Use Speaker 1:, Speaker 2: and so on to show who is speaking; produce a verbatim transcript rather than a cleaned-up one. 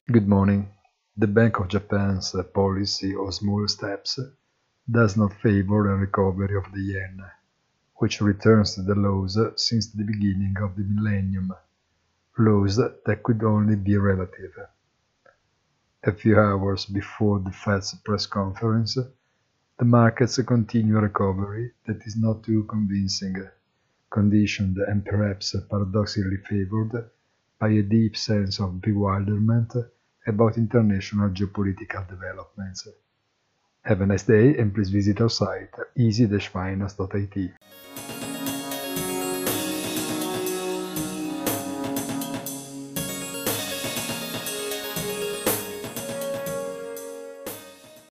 Speaker 1: Good morning. The Bank of Japan's policy of small steps does not favor a recovery of the yen, which returns to the lows since the beginning of the millennium, lows that could only be relative. A few hours before the Fed's press conference, the markets continue a recovery that is not too convincing, conditioned and perhaps paradoxically favored by a deep sense of bewilderment about international geopolitical developments. Have a nice day and please visit our site easy dash finance dot I T.